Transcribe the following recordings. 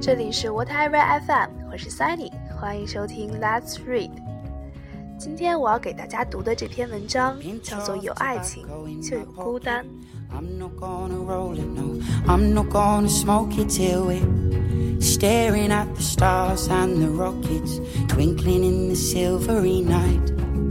这里是 Whatever FM， 我是 Sunny， 欢迎收听 Let's Read。 今天我要给大家读的这篇文章叫做有爱情就有孤单。 I'm not gonna roll it, no, I'm not gonna smoke it till we're staring at the stars and the rockets twinkling in the silvery night.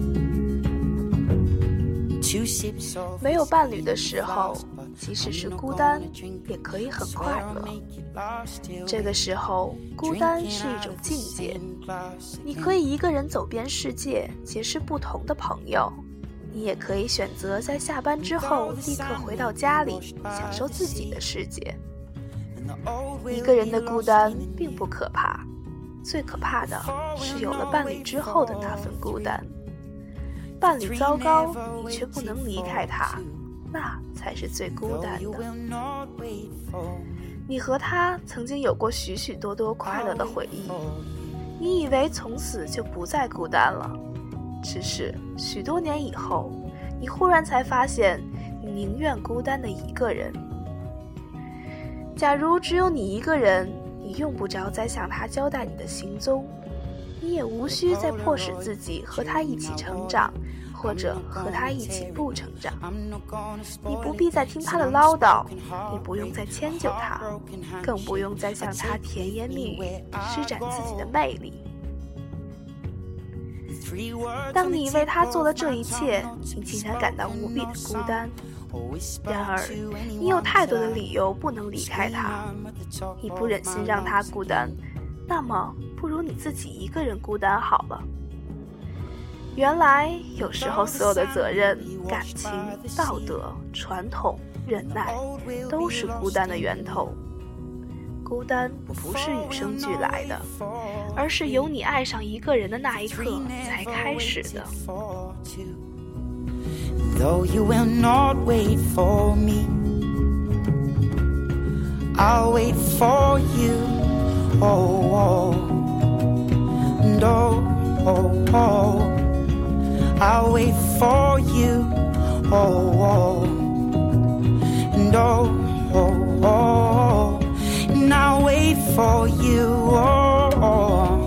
没有伴侣的时候，即使是孤单也可以很快乐。这个时候，孤单是一种境界，你可以一个人走遍世界，结识不同的朋友，你也可以选择在下班之后立刻回到家里，享受自己的世界。一个人的孤单并不可怕，最可怕的是有了伴侣之后的那份孤单。伴侣糟糕，你却不能离开他，那才是最孤单的。你和他曾经有过许许多多快乐的回忆，你以为从此就不再孤单了，只是许多年以后，你忽然才发现，你宁愿孤单的一个人。假如只有你一个人，你用不着再向他交代你的行踪，你也无需再迫使自己和他一起成长，或者和他一起不成长。你不必再听他的唠叨，你不用再迁就他，更不用再向他甜言蜜语，施展自己的魅力。当你为他做了这一切，你竟然感到无比的孤单。然而，你有太多的理由不能离开他，你不忍心让他孤单，那么不如你自己一个人孤单好了。原来有时候所有的责任、感情、道德、传统、忍耐都是孤单的源头。孤单不是与生俱来的，而是由你爱上一个人的那一刻才开始的。 Though you will not wait for me, I'll wait for you. Oh, oh, and oh, oh, oh, I'll wait for you. Oh, oh, and oh, oh, oh, and I'll wait for you. Oh, oh.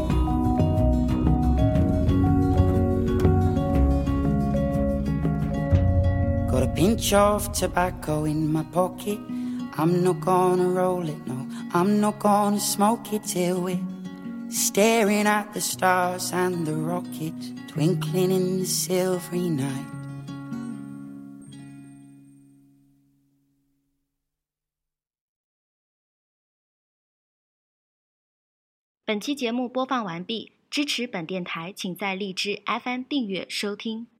Got a pinch of tobacco in my pocket. I'm not gonna roll it, no, I'm not gonna smoke it till we're staring at the stars and the rockets twinkling in the silvery night. 本期节目播放完毕，支持本电台请在荔枝 FM 订阅收听。